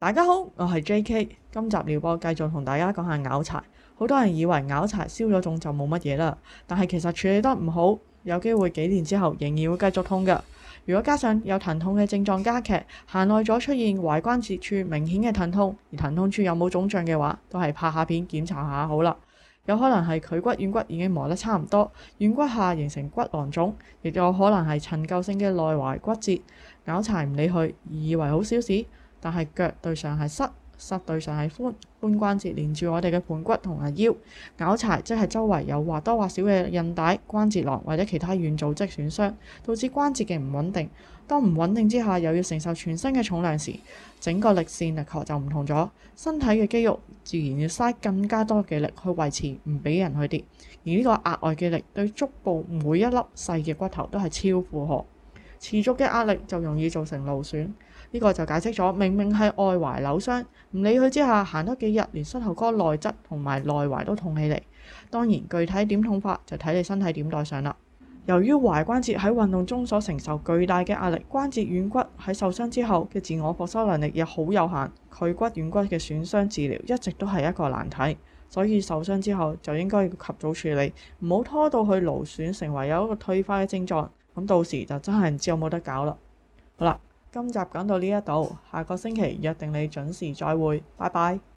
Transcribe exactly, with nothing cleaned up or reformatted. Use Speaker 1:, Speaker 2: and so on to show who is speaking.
Speaker 1: 大家好，我係 J K。今集療播繼續同大家講下拗柴。好多人以為拗柴消咗腫就冇乜嘢啦，但係其實處理得唔好，有機會幾年之後仍然會繼續痛㗎。如果加上有疼痛嘅症狀加劇，行耐咗出現踝關節處明顯嘅疼痛，而疼痛處有冇腫脹嘅話，都係拍下片檢查下好啦。有可能係距骨軟骨已經磨得差唔多，軟骨下形成骨囊腫，亦有可能係陳舊性嘅內踝骨折。拗柴唔理佢，以為好小事。但係腳對上係膝，膝對上係髖，髖關節連住我哋嘅盤骨同埋腰。拗柴即係周圍有或多或少嘅韌帶、關節囊或者其他軟組織損傷，導致關節嘅唔穩定。當唔穩定之下，又要承受全身嘅重量時，整個力線力學就唔同咗。身體嘅肌肉自然要嘥更加多嘅力去維持，唔俾人去跌。而呢個額外嘅力對足部每一粒細嘅骨頭都係超負荷，持續嘅壓力就容易造成勞損。呢個就解釋咗，明明係外踝扭傷，唔理佢之下行多幾日，連膝頭哥內側同埋內踝都痛起嚟。當然，具體點痛法就睇你身體點代償啦。由於踝關節喺運動中所承受巨大嘅壓力，關節軟骨喺受傷之後嘅自我復修能力亦好有限，距骨軟骨嘅損傷治療一直都係一個難題。所以受傷之後就應該要及早處理，唔好拖到去勞損成為有一個退化嘅症狀，咁到時就真係唔知有冇得搞啦。好啦。今集講到呢一度，下個星期約定你準時再會，拜拜。